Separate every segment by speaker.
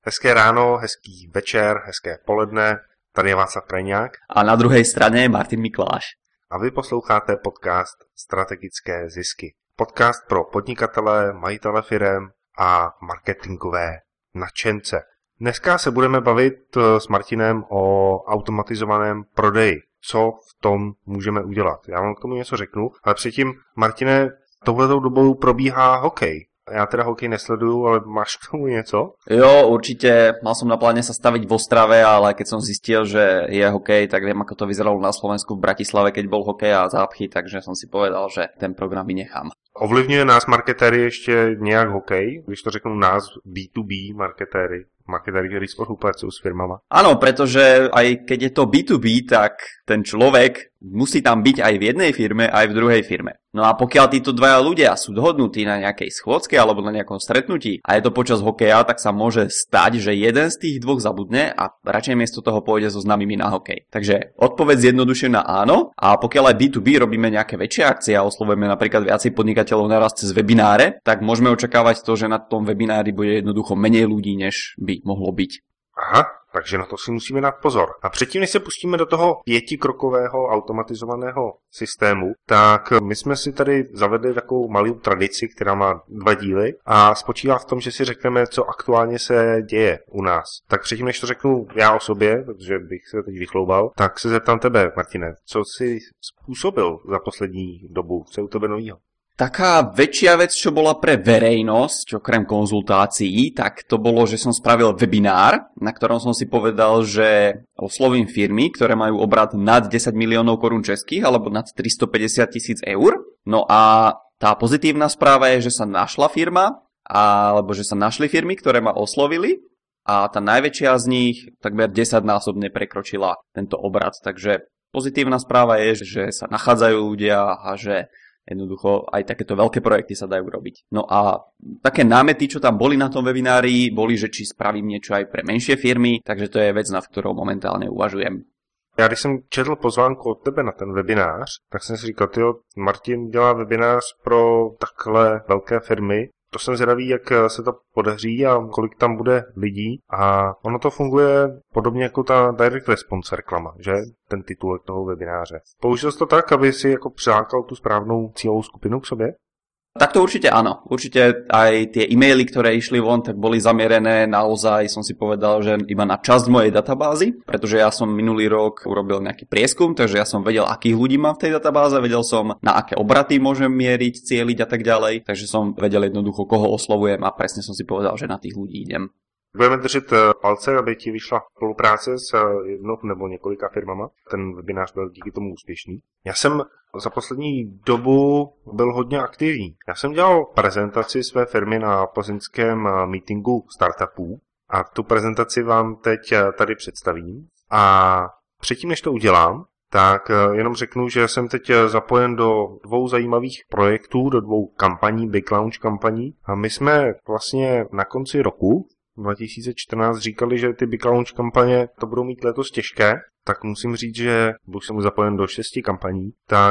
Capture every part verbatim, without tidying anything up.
Speaker 1: Hezké ráno, hezký večer, hezké poledne, tady je Václav Krajňák.
Speaker 2: A na druhé straně je Martin Mikláš.
Speaker 1: A vy posloucháte podcast Strategické zisky. Podcast pro podnikatele, majitele firem a marketingové nadšence. Dneska se budeme bavit s Martinem o automatizovaném prodeji. Co v tom můžeme udělat? Já vám k tomu něco řeknu, ale předtím, Martine, touhletou dobou probíhá hokej. Ja teda hokej nesledujú, ale máš k tomu něco?
Speaker 2: Jo, určite. Mal som na pláne sa staviť v Ostrave, ale keď som zistil, že je hokej, tak viem, ako to vyzeralo na Slovensku v Bratislave, keď bol hokej a zápchy, takže som si povedal, že ten program vynechám.
Speaker 1: Ovlivňuje nás marketéry ještě nějak hokej? Když to řeknu nás bé dvě bé marketéry, marketéry, ktorí spolupracujú s firmama.
Speaker 2: Áno, pretože aj keď je to bé dvě bé, tak ten človek musí tam byť aj v jednej firme, aj v druhej firme. No a pokiaľ títo dvaja ľudia sú dohodnutí na nejakej schôdzke alebo na nejakom stretnutí a je to počas hokeja, tak sa môže stať, že jeden z tých dvoch zabudne a radšej miesto toho pôjde so známymi na hokej. Takže odpoveď zjednodušená áno, a pokiaľ aj bé dvě bé robíme nejaké väčšie akcie a oslovujeme napríklad viacej podnikateľov naraz cez webináre, tak môžeme očakávať to, že na tom webinári bude jednoducho menej ľudí, než by mohlo byť.
Speaker 1: Aha, takže na to si musíme dát pozor. A předtím, než se pustíme do toho pětikrokového automatizovaného systému, tak my jsme si tady zavedli takovou malou tradici, která má dva díly a spočívá v tom, že si řekneme, co aktuálně se děje u nás. Tak předtím, než to řeknu já o sobě, protože bych se teď vychloubal, tak se zeptám tebe, Martine, co jsi způsobil za poslední dobu, co je u tebe novýho?
Speaker 2: Taká väčšia vec, čo bola pre verejnosť, okrem konzultácií, tak to bolo, že som spravil webinár, na ktorom som si povedal, že oslovím firmy, ktoré majú obrat nad desať miliónov korún českých alebo nad tristopäťdesiat tisíc eur. No a tá pozitívna správa je, že sa našla firma, alebo že sa našli firmy, ktoré ma oslovili a tá najväčšia z nich takmer desaťnásobne prekročila tento obrat. Takže pozitívna správa je, že sa nachádzajú ľudia a že jednoducho aj takéto veľké projekty sa dajú robiť. No a také námety, čo tam boli na tom webinári, boli, že či spravím niečo aj pre menšie firmy, takže to je vec, nad ktorou momentálne uvažujem.
Speaker 1: Já když jsem četl pozvánku od tebe na ten webinář, tak jsem si říkal, tyjo, Martin dělá webinář pro takhle velké firmy. To jsem zvědavý, jak se to podaří a kolik tam bude lidí. A ono to funguje podobně jako ta direct response reklama, že? Ten titulek toho webináře. Použil jsi to tak, aby si jako přilákal tu správnou cílovou skupinu k sobě?
Speaker 2: Tak to určite áno. Určite aj tie e-maily, ktoré išli von, tak boli zamierené naozaj, som si povedal, že iba na časť mojej databázy, pretože ja som minulý rok urobil nejaký prieskum, takže ja som vedel, akých ľudí mám v tej databáze, vedel som, na aké obraty môžem mieriť, cieliť a tak ďalej, takže som vedel jednoducho, koho oslovujem a presne som si povedal, že na tých ľudí idem.
Speaker 1: Budeme držet palce, aby ti vyšla spolupráce s jednou nebo několika firmama. Ten webinář byl díky tomu úspěšný. Já jsem za poslední dobu byl hodně aktivní. Já jsem dělal prezentaci své firmy na plzeňském meetingu startupů a tu prezentaci vám teď tady představím. A předtím, než to udělám, tak jenom řeknu, že jsem teď zapojen do dvou zajímavých projektů, do dvou kampaní, Big Launch kampaní. A my jsme vlastně na konci roku dva tisíce čtrnáct říkali, že ty Big Launch kampaně to budou mít letos těžké, tak musím říct, že buď jsem zapojen do šesti kampaní, tak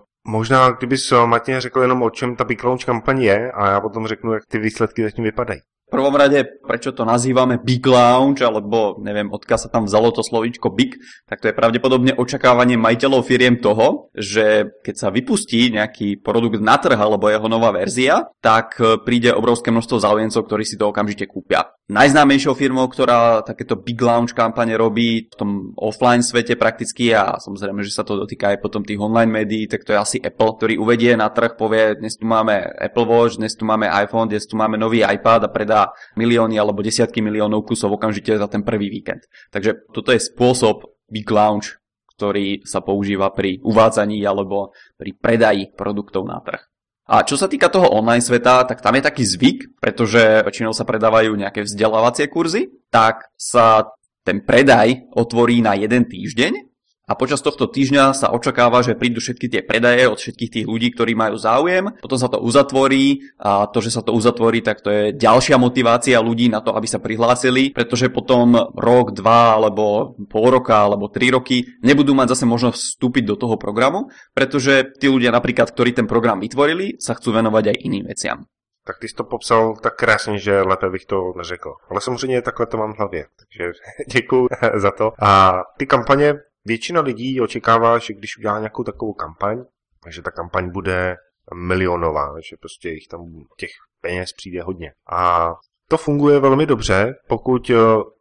Speaker 1: možná kdybys Martin řekl jenom o čem ta Big Launch kampaň je a já potom řeknu, jak ty výsledky zatím vypadají.
Speaker 2: V prvom rade, prečo to nazývame Big Launch, alebo neviem, odkiaľ sa tam vzalo to slovíčko Big, tak to je pravdepodobne očakávanie majiteľov firiem toho, že keď sa vypustí nejaký produkt na trh alebo jeho nová verzia, tak príde obrovské množstvo záujemcov, ktorí si to okamžite kúpia. Najznámejšou firmou, ktorá takéto Big Launch kampane robí v tom offline svete prakticky a samozrejme, že sa to dotýka aj potom tých online médií, tak to je asi Apple, ktorý uvedie na trh, povie, dnes tu máme Apple Watch, dnes tu máme iPhone, dnes tu máme nový iPad a predá milióny alebo desiatky miliónov kusov okamžite za ten prvý víkend. Takže toto je spôsob Big Launch, ktorý sa používa pri uvádzaní alebo pri predaji produktov na trh. A čo sa týka toho online sveta, tak tam je taký zvyk, pretože väčšinou sa predávajú nejaké vzdelávacie kurzy, tak sa ten predaj otvorí na jeden týždeň a počas tohto týždňa sa očakáva, že prídu všetky tie predaje od všetkých tých ľudí, ktorí majú záujem. Potom sa to uzatvorí a to, že sa to uzatvorí, tak to je ďalšia motivácia ľudí na to, aby sa prihlásili, pretože potom rok, dva alebo pol roka alebo tri roky nebudú mať zase možnosť vstúpiť do toho programu, pretože tí ľudia napríklad, ktorí ten program vytvorili, sa chcú venovať aj iným veciam.
Speaker 1: Tak ty jsi to popsal tak krásně, že lépe bych to neřekl. Ale samozřejmě takhle to mám v hlavě, takže děkuju za to. A ty kampaně, většina lidí očekává, že když udělá nějakou takovou kampaň, že ta kampaň bude milionová, že prostě jich tam těch peněz přijde hodně. A to funguje velmi dobře, pokud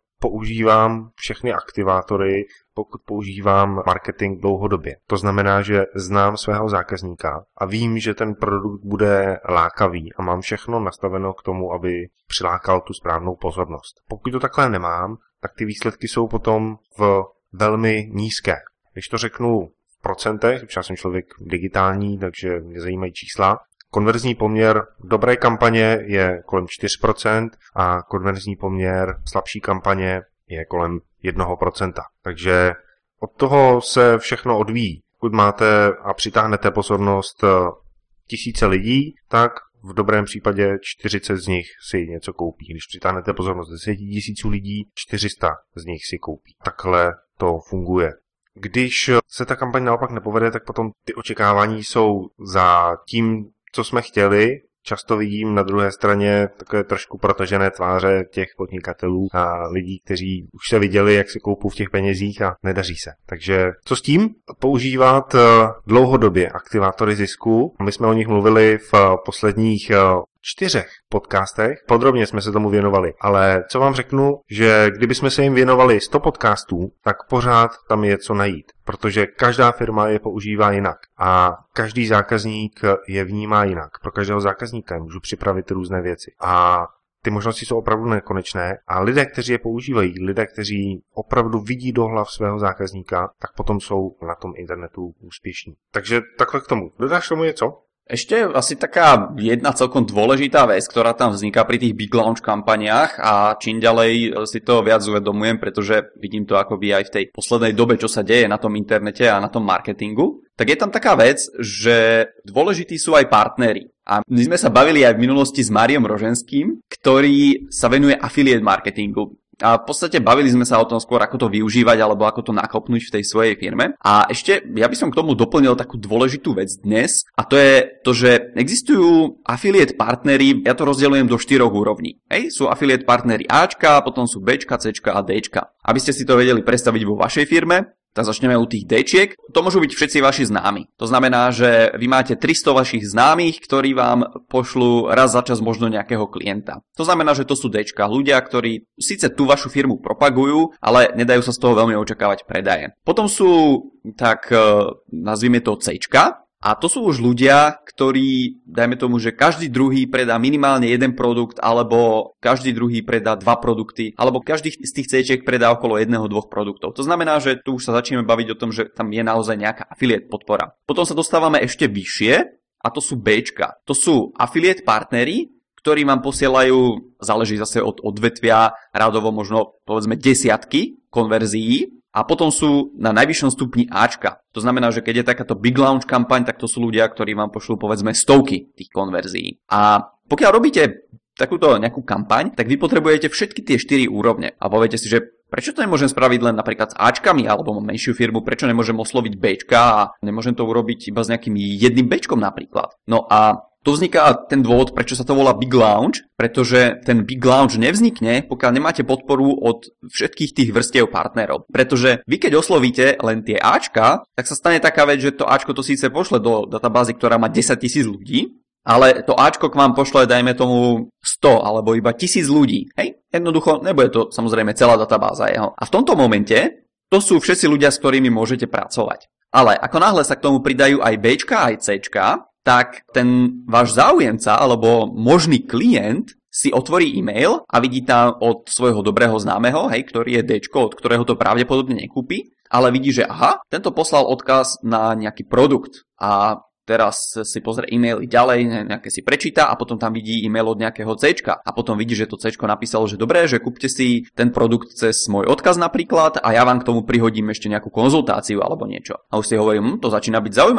Speaker 1: používám všechny aktivátory, pokud používám marketing dlouhodobě. To znamená, že znám svého zákazníka a vím, že ten produkt bude lákavý a mám všechno nastaveno k tomu, aby přilákal tu správnou pozornost. Pokud to takhle nemám, tak ty výsledky jsou potom v velmi nízké. Když to řeknu v procentech, protože já jsem člověk digitální, takže mě zajímají čísla, konverzní poměr dobré kampaně je kolem čtyři procenta a konverzní poměr slabší kampaně je kolem jedna procenta. Takže od toho se všechno odvíjí. Pokud máte a přitáhnete pozornost tisíce lidí, tak v dobrém případě čtyřicet z nich si něco koupí. Když přitáhnete pozornost deset tisíců lidí, čtyři sta z nich si koupí. Takhle to funguje. Když se ta kampaň naopak nepovede, tak potom ty očekávání jsou za tím, co jsme chtěli. Často vidím na druhé straně takové trošku protažené tváře těch podnikatelů a lidí, kteří už se viděli, jak se koupou v těch penězích a nedaří se. Takže co s tím? Používat dlouhodobě aktivátory zisku. My jsme o nich mluvili v posledních čtyřech podcastech. Podrobně jsme se tomu věnovali, ale co vám řeknu, že kdybychom se jim věnovali sto podcastů, tak pořád tam je co najít, protože každá firma je používá jinak a každý zákazník je vnímá jinak. Pro každého zákazníka můžu připravit různé věci a ty možnosti jsou opravdu nekonečné a lidé, kteří je používají, lidé, kteří opravdu vidí do hlav svého zákazníka, tak potom jsou na tom internetu úspěšní. Takže takhle k tomu. Dodáš tomu něco?
Speaker 2: Ešte asi taká jedna celkom dôležitá vec, ktorá tam vzniká pri tých big launch kampaniách a čím ďalej si to viac uvedomujem, pretože vidím to akoby aj v tej poslednej dobe, čo sa deje na tom internete a na tom marketingu, tak je tam taká vec, že dôležití sú aj partneri. A my sme sa bavili aj v minulosti s Máriom Roženským, ktorý sa venuje affiliate marketingu. A v podstate bavili sme sa o tom skôr, ako to využívať alebo ako to nakopnúť v tej svojej firme. A ešte ja by som k tomu doplnil takú dôležitú vec dnes a to je to, že existujú affiliate partnery, ja to rozdeľujem do štyroch úrovní. Hej, sú affiliate partnery Ačka, potom sú Bčka, Cčka a Dčka. Aby ste si to vedeli predstaviť vo vašej firme, tak začneme u tých Dčiek. To môžu byť všetci vaši známi. To znamená, že vy máte tristo vašich známych, ktorí vám pošlú raz za čas možno nejakého klienta. To znamená, že to sú Dčka, ľudia, ktorí síce tú vašu firmu propagujú, ale nedajú sa z toho veľmi očakávať predaje. Potom sú, tak nazvime to Cčka, a to sú už ľudia, ktorí, dajme tomu, že každý druhý predá minimálne jeden produkt, alebo každý druhý predá dva produkty, alebo každý z tých C-čiek predá okolo jedného, dvoch produktov. To znamená, že tu už sa začneme baviť o tom, že tam je naozaj nejaká affiliate podpora. Potom sa dostávame ešte vyššie, a to sú Bčka. To sú affiliate partneri, ktorí vám posielajú, záleží zase od odvetvia, rádovo možno povedzme desiatky konverzií. A potom sú na najvyššom stupni Ačka. To znamená, že keď je takáto big launch kampaň, tak to sú ľudia, ktorí vám pošlú povedzme stovky tých konverzií. A pokiaľ robíte takúto nejakú kampaň, tak vy potrebujete všetky tie štyri úrovne. A poviete si, že prečo to nemôžem spraviť len napríklad s Ačkami, alebo mám menšiu firmu, prečo nemôžem osloviť Bčka a nemôžem to urobiť iba s nejakým jedným Bčkom napríklad. No a tu vzniká ten dôvod, prečo sa to volá Big Launch, pretože ten Big Launch nevznikne, pokiaľ nemáte podporu od všetkých tých vrstiev partnerov. Pretože vy keď oslovíte len tie Ačka, tak sa stane taká vec, že to Ačko to síce pošle do databázy, ktorá má desaťtisíc ľudí, ale to Ačko k vám pošle, dajme tomu, sto alebo iba tisíc ľudí. Hej? Jednoducho, nebude to samozrejme celá databáza jeho. A v tomto momente to sú všetci ľudia, s ktorými môžete pracovať. Ale ako náhle sa k tomu pridajú aj Bčka, aj Cčka, tak ten váš záujemca alebo možný klient si otvorí e-mail a vidí tam od svojho dobrého známeho, hej, ktorý je Dčko, od ktorého to pravdepodobne nekúpi, ale vidí, že aha, tento poslal odkaz na nejaký produkt a teraz si pozrie e-maily ďalej, nejaké si prečíta a potom tam vidí e-mail od nejakého Cčka a potom vidí, že to Cčko napísalo, že dobré, že kúpte si ten produkt cez môj odkaz napríklad a ja vám k tomu prihodím ešte nejakú konzultáciu alebo niečo. A už si hovorím, hm, to začína byť zaujímavé.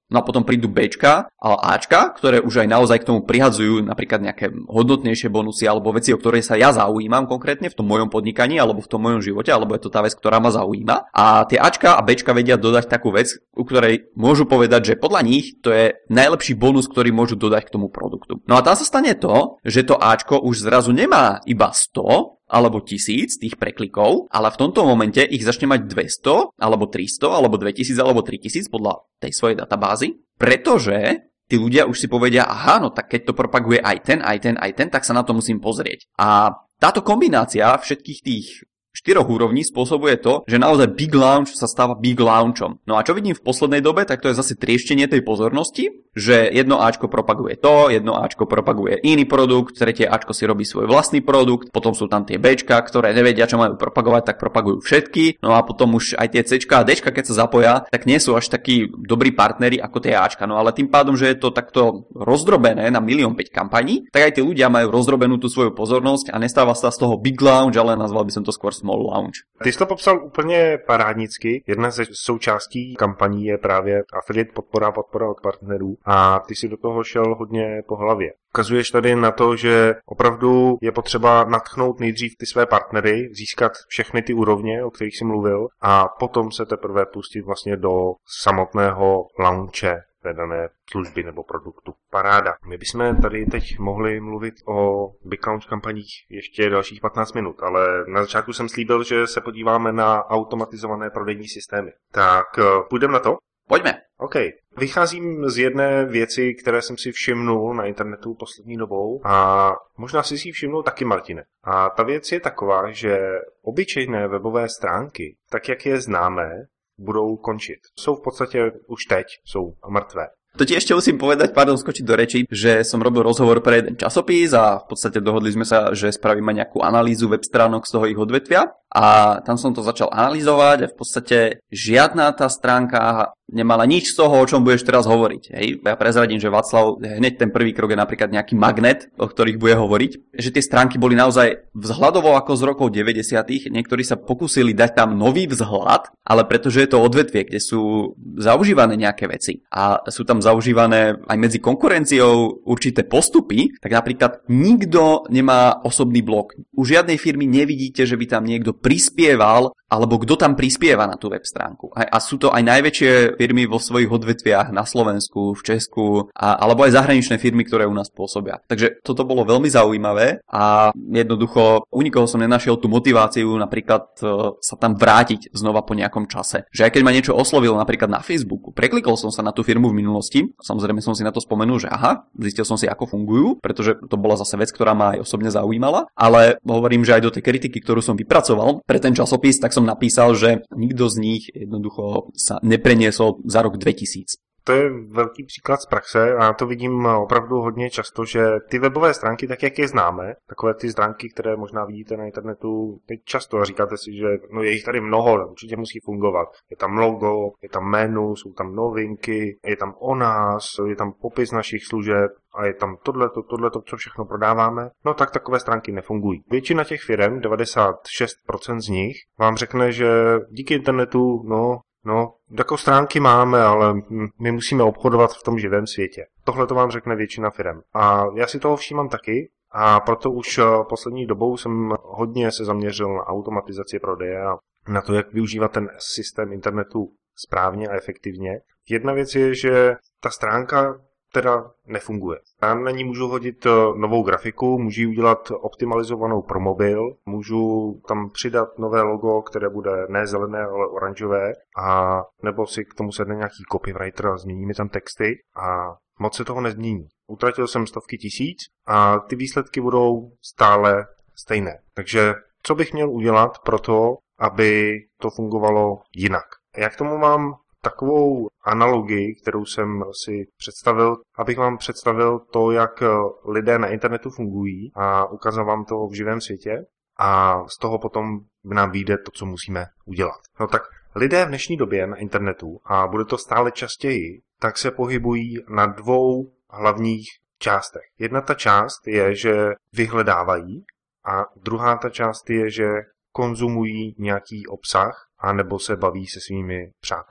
Speaker 2: No a potom prídu Bčka a Ačka, ktoré už aj naozaj k tomu prihadzujú napríklad nejaké hodnotnejšie bonusy alebo veci, o ktoré sa ja zaujímam konkrétne v tom mojom podnikaní alebo v tom mojom živote, alebo je to tá vec, ktorá ma zaujíma. A tie Ačka a Bčka vedia dodať takú vec, u ktorej môžu povedať, že podľa nich to je najlepší bonus, ktorý môžu dodať k tomu produktu. No a tam sa stane to, že to Ačko už zrazu nemá iba sto alebo tisíc tých preklikov, ale v tomto momente ich začne mať dvesto, alebo tristo, alebo dvetisíc, alebo tritisíc podľa tej svojej databázy, pretože tí ľudia už si povedia, aha, no tak keď to propaguje aj ten, aj ten, aj ten, tak sa na to musím pozrieť. A táto kombinácia všetkých tých štyroch úrovní spôsobuje to, že naozaj Big Launch sa stáva Big Launchom. No a čo vidím v poslednej dobe, tak to je zase trieštenie tej pozornosti, že jedno Ačko propaguje to, jedno Ačko propaguje iný produkt, tretie Ačko si robí svoj vlastný produkt, potom sú tam tie Bčka, ktoré nevedia, čo majú propagovať, tak propagujú všetky, no a potom už aj tie Cčka a Dčka, keď sa zapoja, tak nie sú až takí dobrí partneri ako tie Ačka. No ale tým pádom, že je to takto rozdrobené na milión päť kampaní, tak aj tí ľudia majú rozdrobenú tú svoju pozornosť a nestáva sa z toho Big Launch, ale nazval by som to skôr Small Launch.
Speaker 1: Ty jsi to popsal úplně parádnicky. Jedna ze součástí kampaní je právě affiliate podpora, podpora od partnerů a ty si do toho šel hodně po hlavě. Ukazuješ tady na to, že opravdu je potřeba nadchnout nejdřív ty své partnery, získat všechny ty úrovně, o kterých jsi mluvil, a potom se teprve pustit vlastně do samotného launche té dané služby nebo produktu. Paráda. My bychom tady teď mohli mluvit o Big Launch kampaních ještě dalších patnáct minut, ale na začátku jsem slíbil, že se podíváme na automatizované prodejní systémy. Tak půjdeme na to?
Speaker 2: Pojďme.
Speaker 1: OK. Vycházím z jedné věci, které jsem si všimnul na internetu poslední dobou a možná si si všimnul taky, Martine. A ta věc je taková, že obyčejné webové stránky, tak jak je známe, budou končit. Jsou v podstatě už teď, jsou mrtvé.
Speaker 2: To ti ešte musím povedať, pardon, skočiť do rečí, že som robil rozhovor pre jeden časopis a v podstate dohodli sme sa, že spravíme nejakú analýzu web stránok z toho ich odvetvia a tam som to začal analyzovať a v podstate žiadna tá stránka nemala nič z toho, o čom budeš teraz hovoriť. Hej? Ja prezradím, že Václav, hneď ten prvý krok je napríklad nejaký magnet, o ktorých bude hovoriť, že tie stránky boli naozaj vzhľadovo ako z rokov deväťdesiatych. Niektorí sa pokúsili dať tam nový vzhľad, ale pretože je to odvetvie, kde sú zaužívané nejaké veci a sú tam zaužívané aj medzi konkurenciou určité postupy, tak napríklad nikto nemá osobný blog. U žiadnej firmy nevidíte, že by tam niekto prispieval, alebo kto tam prispieva na tú web stránku. A, a sú to aj najväčšie firmy vo svojich odvetviach na Slovensku, v Česku, a, alebo aj zahraničné firmy, ktoré u nás pôsobia. Takže toto bolo veľmi zaujímavé a jednoducho u nikoho som nenašiel tú motiváciu napríklad uh, sa tam vrátiť znova po nejakom čase. Že aj keď ma niečo oslovilo napríklad na Facebooku, preklikol som sa na tú firmu v minulosti, samozrejme som si na to spomenul, že aha, zistil som si, ako fungujú, pretože to bola zase vec, ktorá ma aj osobne zaujímala, ale hovorím, že aj do tej kritiky, ktorú som vypracoval pre ten časopis, tak som napísal, že nikto z nich jednoducho sa nepreniesol za rok dvetisíc.
Speaker 1: To je velký příklad z praxe a to vidím opravdu hodně často, že ty webové stránky, tak jak je známe, takové ty stránky, které možná vidíte na internetu teď často a říkáte si, že no je jich tady mnoho, určitě musí fungovat. Je tam logo, je tam menu, jsou tam novinky, je tam o nás, je tam popis našich služeb a je tam tohleto, tohleto, co všechno prodáváme, no tak takové stránky nefungují. Většina těch firem, devadesát šest procent z nich, vám řekne, že díky internetu, no, No, jako stránky máme, ale my musíme obchodovat v tom živém světě. Tohle to vám řekne většina firem. A já si toho všímám taky a proto už poslední dobou jsem hodně se zaměřil na automatizaci prodeje a na to, jak využívat ten systém internetu správně a efektivně. Jedna věc je, že ta stránka teda nefunguje. Já na ní můžu hodit novou grafiku, můžu ji udělat optimalizovanou pro mobil, můžu tam přidat nové logo, které bude ne zelené, ale oranžové, a nebo si k tomu sedne nějaký copywriter a změní mi tam texty a moc se toho nezmění. Utratil jsem stovky tisíc a ty výsledky budou stále stejné. Takže co bych měl udělat pro to, aby to fungovalo jinak? Já k tomu mám takovou analogii, kterou jsem si představil, abych vám představil to, jak lidé na internetu fungují a ukázal vám to v živém světě a z toho potom nám vyjde to, co musíme udělat. No tak lidé v dnešní době na internetu, a bude to stále častěji, tak se pohybují na dvou hlavních částech. Jedna ta část je, že vyhledávají a druhá ta část je, že konzumují nějaký obsah a nebo se baví se svými přáteli.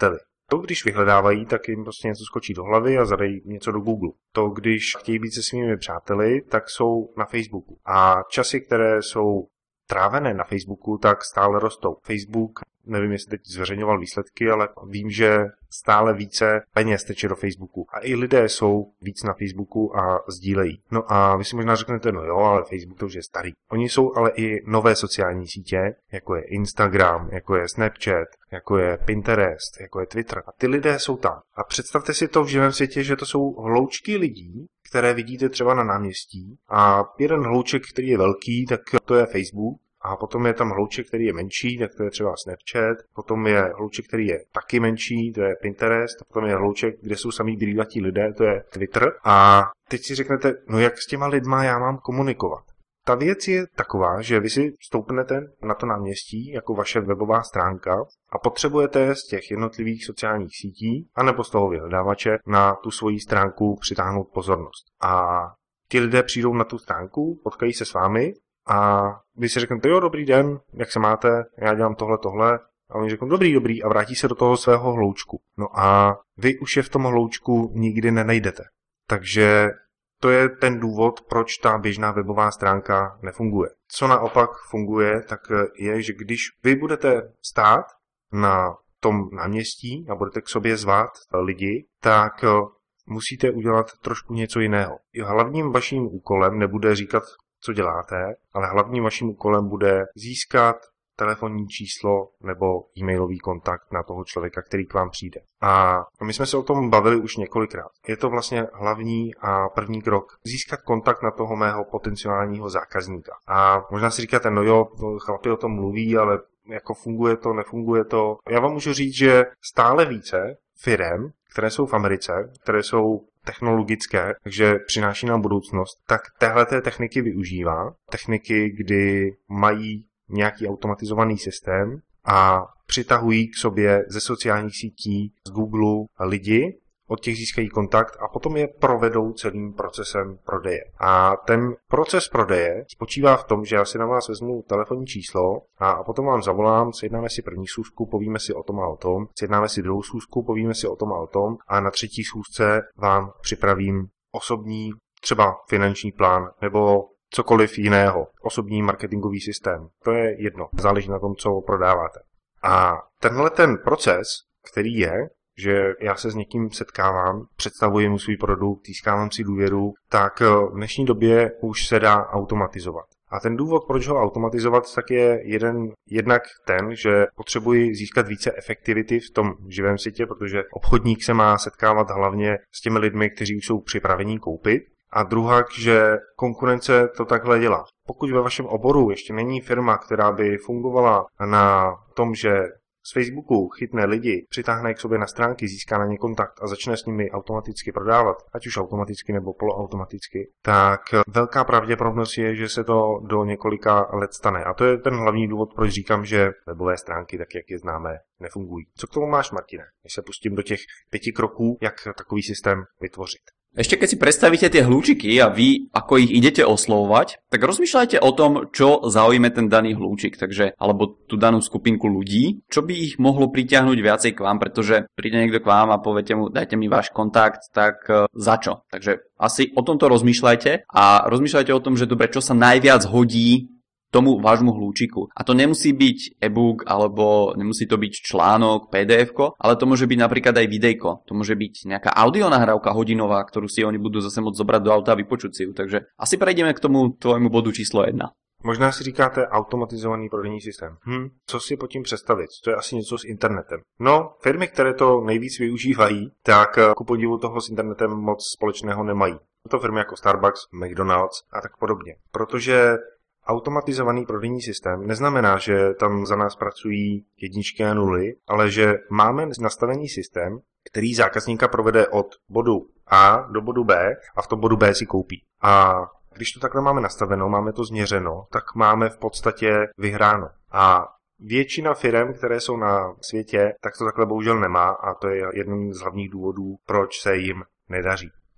Speaker 1: To, když vyhledávají, tak jim prostě něco skočí do hlavy a zadají něco do Google. To, když chtějí být se svými přáteli, tak jsou na Facebooku. A časy, které jsou trávené na Facebooku, tak stále rostou. Facebook, nevím, jestli teď zveřejňoval výsledky, ale vím, že stále více peněz teče do Facebooku. A i lidé jsou víc na Facebooku a sdílejí. No a vy si možná řeknete, no jo, ale Facebook to už je starý. Oni jsou ale i nové sociální sítě, jako je Instagram, jako je Snapchat, jako je Pinterest, jako je Twitter. A ty lidé jsou tam. A představte si to v živém světě, že to jsou hloučky lidí, které vidíte třeba na náměstí. A jeden hlouček, který je velký, tak to je Facebook. A potom je tam hlouček, který je menší, tak to je třeba Snapchat. Potom je hlouček, který je taky menší, to je Pinterest. A potom je hlouček, kde jsou samý brýlatí lidé, to je Twitter. A teď si řeknete, no jak s těma lidma já mám komunikovat? Ta věc je taková, že vy si stoupnete na to náměstí jako vaše webová stránka a potřebujete z těch jednotlivých sociálních sítí anebo z toho vyhledávače na tu svoji stránku přitáhnout pozornost. A ti lidé přijdou na tu stránku, potkají se s vámi a vy si řeknete, jo, dobrý den, jak se máte, já dělám tohle, tohle. A oni řeknou, dobrý, dobrý, a vrátí se do toho svého hloučku. No a vy už je v tom hloučku nikdy nenajdete. Takže to je ten důvod, proč ta běžná webová stránka nefunguje. Co naopak funguje, tak je, že když vy budete stát na tom náměstí a budete k sobě zvát lidi, tak musíte udělat trošku něco jiného. Hlavním vaším úkolem nebude říkat, co děláte, ale hlavním vaším úkolem bude získat telefonní číslo nebo e-mailový kontakt na toho člověka, který k vám přijde. A my jsme se o tom bavili už několikrát. Je to vlastně hlavní a první krok. Získat kontakt na toho mého potenciálního zákazníka. A možná si říkáte, no jo, chlapi o tom mluví, ale jako funguje to, nefunguje to. Já vám můžu říct, že stále více firem, které jsou v Americe, které jsou technologické, takže přináší nám budoucnost, tak téhleté techniky využívá. Techniky, kdy mají nějaký automatizovaný systém a přitahují k sobě ze sociálních sítí, z Google lidi, od těch získají kontakt a potom je provedou celým procesem prodeje. A ten proces prodeje spočívá v tom, že já si na vás vezmu telefonní číslo a potom vám zavolám, sjednáme si první schůzku, povíme si o tom a o tom, sjednáme si druhou schůzku, povíme si o tom a o tom a na třetí schůzce vám připravím osobní, třeba finanční plán nebo cokoliv jiného, osobní marketingový systém. To je jedno, záleží na tom, co prodáváte. A tenhle ten proces, který je, že já se s někým setkávám, představuji mu svůj produkt, získávám si důvěru, tak v dnešní době už se dá automatizovat. A ten důvod, proč ho automatizovat, tak je jeden, jednak ten, že potřebuji získat více efektivity v tom živém světě, protože obchodník se má setkávat hlavně s těmi lidmi, kteří už jsou připraveni koupit. A druhá, že konkurence to takhle dělá. Pokud ve vašem oboru ještě není firma, která by fungovala na tom, že z Facebooku chytne lidi, přitáhne k sobě na stránky, získá na ně kontakt a začne s nimi automaticky prodávat, ať už automaticky nebo poloautomaticky, tak velká pravděpodobnost je, že se to do několika let stane. A to je ten hlavní důvod, proč říkám, že webové stránky, tak jak je známe, nefungují. Co k tomu máš, Martine? Když se pustím do těch pěti kroků, jak takový systém vytvořit.
Speaker 2: Ešte keď si predstavíte tie hľúčiky a vy, ako ich idete oslovovať, tak rozmýšľajte o tom, čo zaujíme ten daný hľúčik, takže, alebo tú danú skupinku ľudí, čo by ich mohlo pritiahnuť viacej k vám, pretože príde niekto k vám a poviete mu, dajte mi váš kontakt, tak uh, za čo? Takže asi o tomto rozmýšľajte a rozmýšľajte o tom, že dobre, čo sa najviac hodí tomu vášmu hľúčiku. A to nemusí byť e-book, alebo nemusí to byť článok, pé dé efko, ale to môže byť napríklad aj videjko. To môže byť nejaká audionahrávka hodinová, ktorú si oni budú zase môcť zobrať do auta a vypočuť si ju. Takže asi prejdeme k tomu tvojmu bodu číslo jedna.
Speaker 1: Možná si říkáte automatizovaný prodejní systém. Hm, co si pod tím představit? To je asi něco s internetem. No, firmy, které to nejvíc využívají, tak ku podivu toho s internetem moc společného nemají. To firmy jako Starbucks, McDonald's a tak podobně. Protože automatizovaný prodejní systém neznamená, že tam za nás pracují jedničky a nuly, ale že máme nastavený systém, který zákazníka provede od bodu A do bodu B a v tom bodu B si koupí. A když to takhle máme nastaveno, máme to změřeno, tak máme v podstatě vyhráno. A většina firem, které jsou na světě, tak to takhle bohužel nemá a to je jeden z hlavních důvodů, proč se jim nedaří.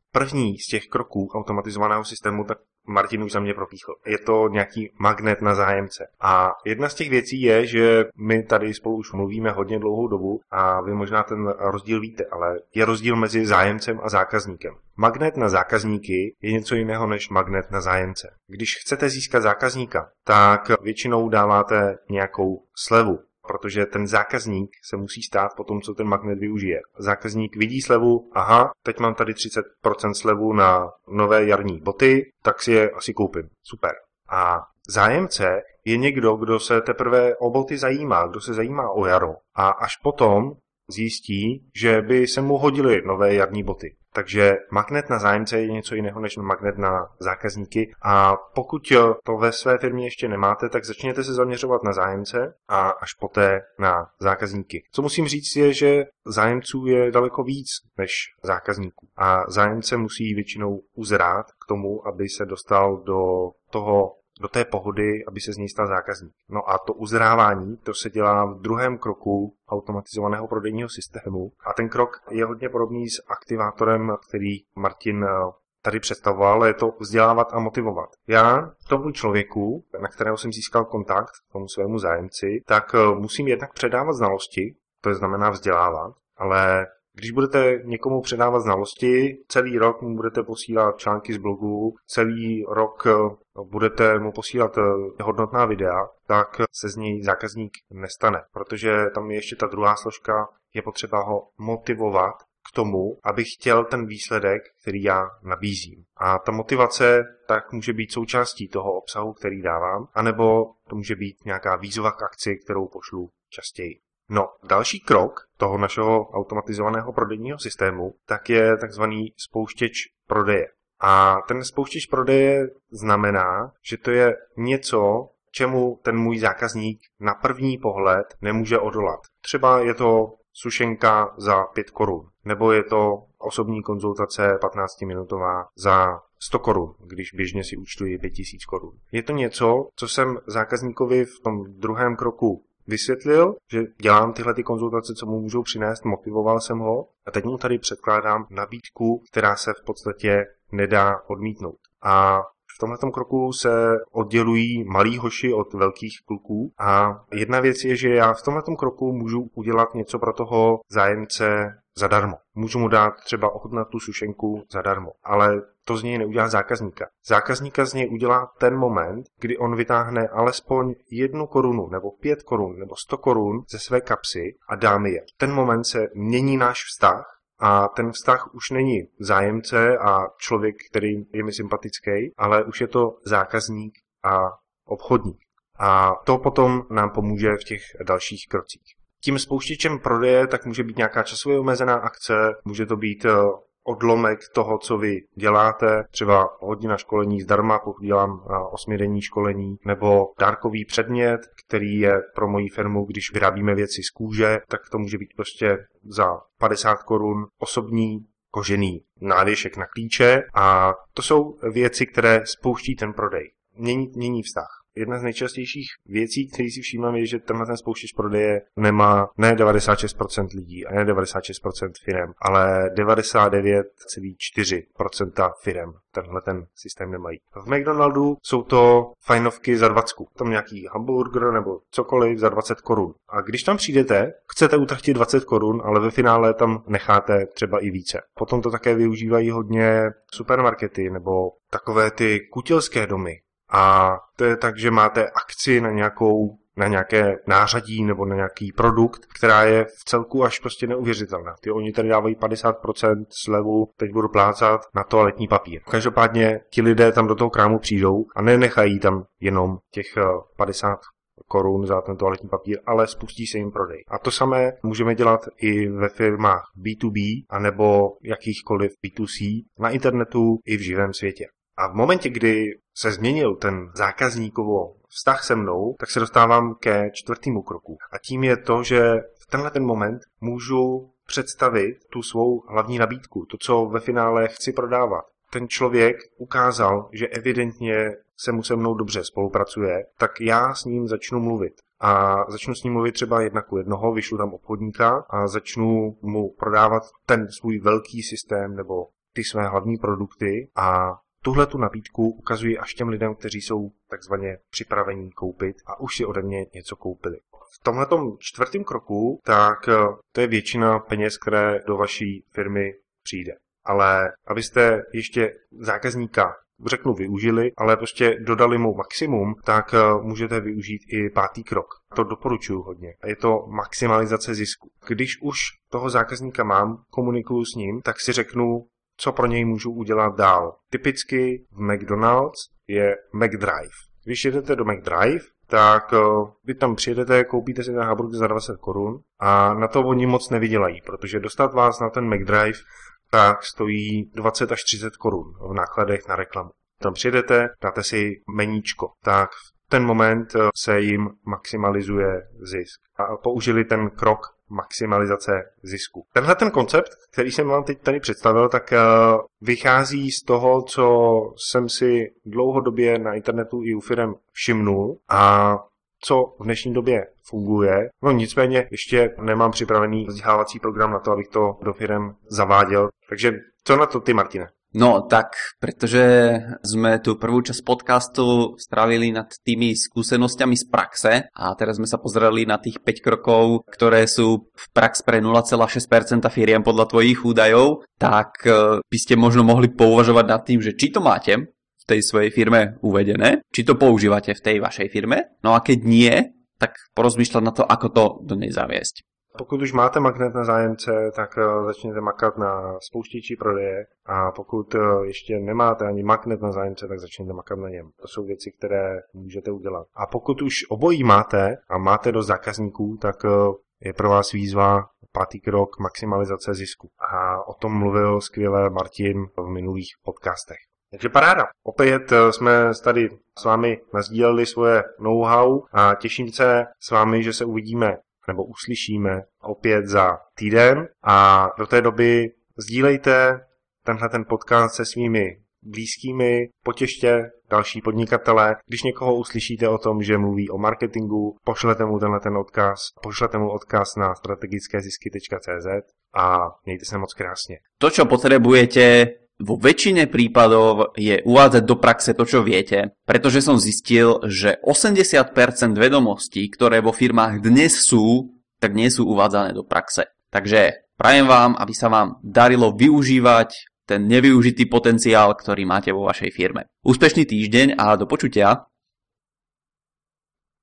Speaker 1: první z těch kroků automatizovaného systému, tak Martin už za mě propíchl. Je to nějaký magnet na zájemce. A jedna z těch věcí je, že my tady spolu už mluvíme hodně dlouhou dobu a vy možná ten rozdíl víte, ale je rozdíl mezi zájemcem a zákazníkem. Magnet na zákazníky je něco jiného než magnet na zájemce. Když chcete získat zákazníka, tak většinou dáváte nějakou slevu, protože ten zákazník se musí stát po tom, co ten magnet využije. Zákazník vidí slevu, aha, teď mám tady třicet procent slevu na nové jarní boty, tak si je asi koupím. Super. A zájemce je někdo, kdo se teprve o boty zajímá, kdo se zajímá o jaro a až potom zjistí, že by se mu hodily nové jarní boty. Takže magnet na zájemce je něco jiného než magnet na zákazníky a pokud to ve své firmě ještě nemáte, tak začněte se zaměřovat na zájemce a až poté na zákazníky. Co musím říct je, že zájemců je daleko víc než zákazníků a zájemce musí většinou uzrát k tomu, aby se dostal do toho do té pohody, aby se z něj stal zákazník. No a to uzrávání, to se dělá v druhém kroku automatizovaného prodejního systému a ten krok je hodně podobný s aktivátorem, který Martin tady představoval, je to vzdělávat a motivovat. Já tomu člověku, na kterého jsem získal kontakt, tomu svému zájemci, tak musím jednak předávat znalosti, to znamená vzdělávat, ale když budete někomu předávat znalosti, celý rok mu budete posílat články z blogu, celý rok budete mu posílat hodnotná videa, tak se z něj zákazník nestane, protože tam je ještě ta druhá složka, je potřeba ho motivovat k tomu, aby chtěl ten výsledek, který já nabízím. A ta motivace tak může být součástí toho obsahu, který dávám, anebo to může být nějaká výzva k akci, kterou pošlu častěji. No, další krok toho našeho automatizovaného prodejního systému tak je takzvaný spouštěč prodeje. A ten spouštěč prodeje znamená, že to je něco, čemu ten můj zákazník na první pohled nemůže odolat. Třeba je to sušenka za pět korun, nebo je to osobní konzultace patnáctiminutová za sto korun, když běžně si účtuji pět tisíc korun. Je to něco, co jsem zákazníkovi v tom druhém kroku vysvětlil, že dělám tyhle ty konzultace, co mu můžou přinést, motivoval jsem ho a teď mu tady předkládám nabídku, která se v podstatě nedá odmítnout. A v tomhletom kroku se oddělují malí hoši od velkých kluků a jedna věc je, že já v tomhletom kroku můžu udělat něco pro toho zájemce zadarmo. Můžu mu dát třeba ochutnat tu sušenku zadarmo, ale to z něj neudělá zákazníka. Zákazníka z něj udělá ten moment, kdy on vytáhne alespoň jednu korunu, nebo pět korun, nebo sto korun ze své kapsy a dá mi je. Ten moment se mění náš vztah a ten vztah už není zájemce a člověk, který je mi sympatický, ale už je to zákazník a obchodník. A to potom nám pomůže v těch dalších krocích. Tím spouštěčem prodeje tak může být nějaká časově omezená akce, může to být odlomek toho, co vy děláte, třeba hodina školení zdarma, pokud dělám osmidenní školení, nebo dárkový předmět, který je pro moji firmu, když vyrábíme věci z kůže, tak to může být prostě za padesát korun osobní kožený návěšek na klíče a to jsou věci, které spouští ten prodej. Mění, mění vztah. Jedna z nejčastějších věcí, které si všímám, je, že tenhle ten spouštěč prodeje nemá ne devadesát šest procent lidí a ne devadesát šest procent firem, ale devadesát devět celá čtyři procenta firem tenhle ten systém nemají. V McDonaldu jsou to fajnovky za dvacku. Tam nějaký hamburger nebo cokoliv za dvacet korun. A když tam přijdete, chcete utratit dvacet korun, ale ve finále tam necháte třeba i více. Potom to také využívají hodně supermarkety nebo takové ty kutilské domy. A to je tak, že máte akci na nějakou, na nějaké nářadí nebo na nějaký produkt, která je v celku až prostě neuvěřitelná. Ty oni tady dávají padesát procent slevu, teď budu plácat na toaletní papír. Každopádně ti lidé tam do toho krámu přijdou a nenechají tam jenom těch padesát korun za ten toaletní papír, ale spustí se jim prodej. A to samé můžeme dělat i ve firmách bé dvě bé anebo jakýchkoliv bé dvě cé na internetu i v živém světě. A v momentě, kdy se změnil ten zákazníkovo vztah se mnou, tak se dostávám ke čtvrtému kroku. A tím je to, že v tenhle ten moment můžu představit tu svou hlavní nabídku, to, co ve finále chci prodávat. Ten člověk ukázal, že evidentně se mu se mnou dobře spolupracuje, tak já s ním začnu mluvit. A začnu s ním mluvit třeba jedna ku jednoho, vyšlu tam obchodníka a začnu mu prodávat ten svůj velký systém nebo ty své hlavní produkty a tuhle tu nabídku ukazují až těm lidem, kteří jsou takzvaně připravení koupit a už si ode mě něco koupili. V tomhletom čtvrtém kroku, tak to je většina peněz, které do vaší firmy přijde. Ale abyste ještě zákazníka, řeknu, využili, ale prostě dodali mu maximum, tak můžete využít i pátý krok. To doporučuji hodně. A je to maximalizace zisku. Když už toho zákazníka mám, komunikuju s ním, tak si řeknu, co pro něj můžu udělat dál. Typicky v McDonald's je McDrive. Když jedete do McDrive, tak vy tam přijedete, koupíte si ten hamburger za dvacet korun a na to oni moc nevydělají, protože dostat vás na ten McDrive tak stojí dvacet až třicet korun v nákladech na reklamu. Tam přijedete, dáte si meníčko, tak v ten moment se jim maximalizuje zisk. A použili ten krok maximalizace zisku. Tenhle ten koncept, který jsem vám teď tady představil, tak vychází z toho, co jsem si dlouhodobě na internetu i u firem všimnul a co v dnešní době funguje. No nicméně ještě nemám připravený vzdělávací program na to, abych to do firem zaváděl. Takže co na to ty, Martine?
Speaker 2: No tak, pretože sme tu prvú časť podcastu strávili nad tými skúsenosťami z praxe a teraz sme sa pozreli na tých päť krokov, ktoré sú v prax pre nula celá šesť percenta firiem podľa tvojich údajov, tak by ste možno mohli pouvažovať nad tým, že či to máte v tej svojej firme uvedené, či to používate v tej vašej firme, no a keď nie, tak porozmýšľať na to, ako to do nej zaviesť.
Speaker 1: Pokud už máte magnet na zájemce, tak začněte makat na spouštěči prodeje a pokud ještě nemáte ani magnet na zájemce, tak začněte makat na něm. To jsou věci, které můžete udělat. A pokud už obojí máte a máte dost zákazníků, tak je pro vás výzva pátý krok maximalizace zisku. A o tom mluvil skvěle Martin v minulých podcastech. Takže paráda. Opět jsme tady s vámi nasdíleli svoje know-how a těším se s vámi, že se uvidíme nebo uslyšíme opět za týden a do té doby sdílejte tenhle ten podcast se svými blízkými, potěšte další podnikatele. Když někoho uslyšíte o tom, že mluví o marketingu, pošlete mu tenhle ten odkaz, pošlete mu odkaz na strategické zisky tečka cé zet a mějte se moc krásně.
Speaker 2: To, čo potrebujete vo väčšine prípadov je uvádzať do praxe to, čo viete, pretože som zistil, že osemdesiat percent vedomostí, ktoré vo firmách dnes sú, tak nie sú uvádzané do praxe. Takže prajem vám, aby sa vám darilo využívať ten nevyužitý potenciál, ktorý máte vo vašej firme. Úspešný týždeň a do počutia.